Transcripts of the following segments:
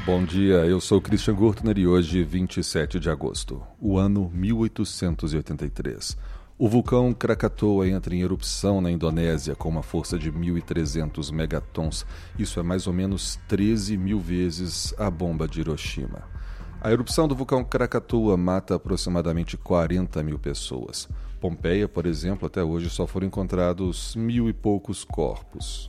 Bom dia, eu sou Christian Gurtner e hoje, 27 de agosto, o ano 1883. O vulcão Krakatoa entra em erupção na Indonésia com uma força de 1.300 megatons. Isso é mais ou menos 13 mil vezes a bomba de Hiroshima. A erupção do vulcão Krakatoa mata aproximadamente 40 mil pessoas. Pompeia, por exemplo, até hoje só foram encontrados 1.000 e poucos corpos.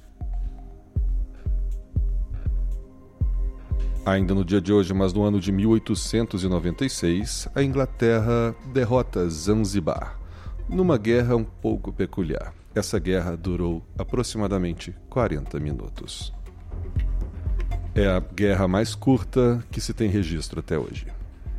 Ainda no dia de hoje, mas no ano de 1896, a Inglaterra derrota Zanzibar, numa guerra um pouco peculiar. Essa guerra durou aproximadamente 40 minutos. É a guerra mais curta que se tem registro até hoje.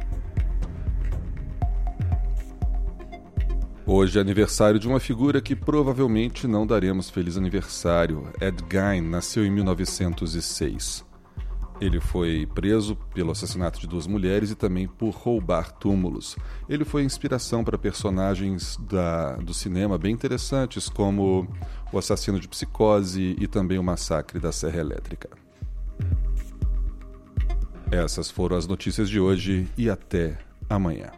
Hoje é aniversário de uma figura que provavelmente não daremos feliz aniversário. Ed Gein nasceu em 1906. Ele foi preso pelo assassinato de 2 mulheres e também por roubar túmulos. Ele foi inspiração para personagens do cinema bem interessantes, como O Assassino de Psicose e também O Massacre da Serra Elétrica. Essas foram as notícias de hoje e até amanhã.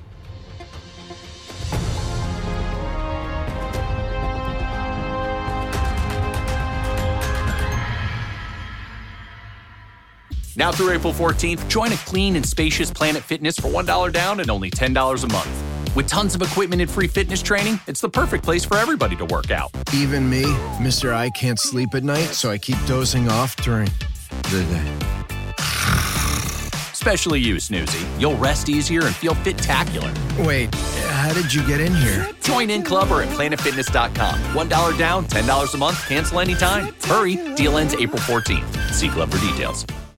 Now through April 14th, join a clean and spacious Planet Fitness for $1 down and only $10 a month. With tons of equipment and free fitness training, it's the perfect place for everybody to work out. Even me, Mr. I can't sleep at night, so I keep dozing off during the day. Especially you, Snoozy. You'll rest easier and feel fit-tacular. Wait, how did you get in here? Join in club or at planetfitness.com. $1 down, $10 a month, cancel anytime. Hurry, deal ends April 14th. See club for details.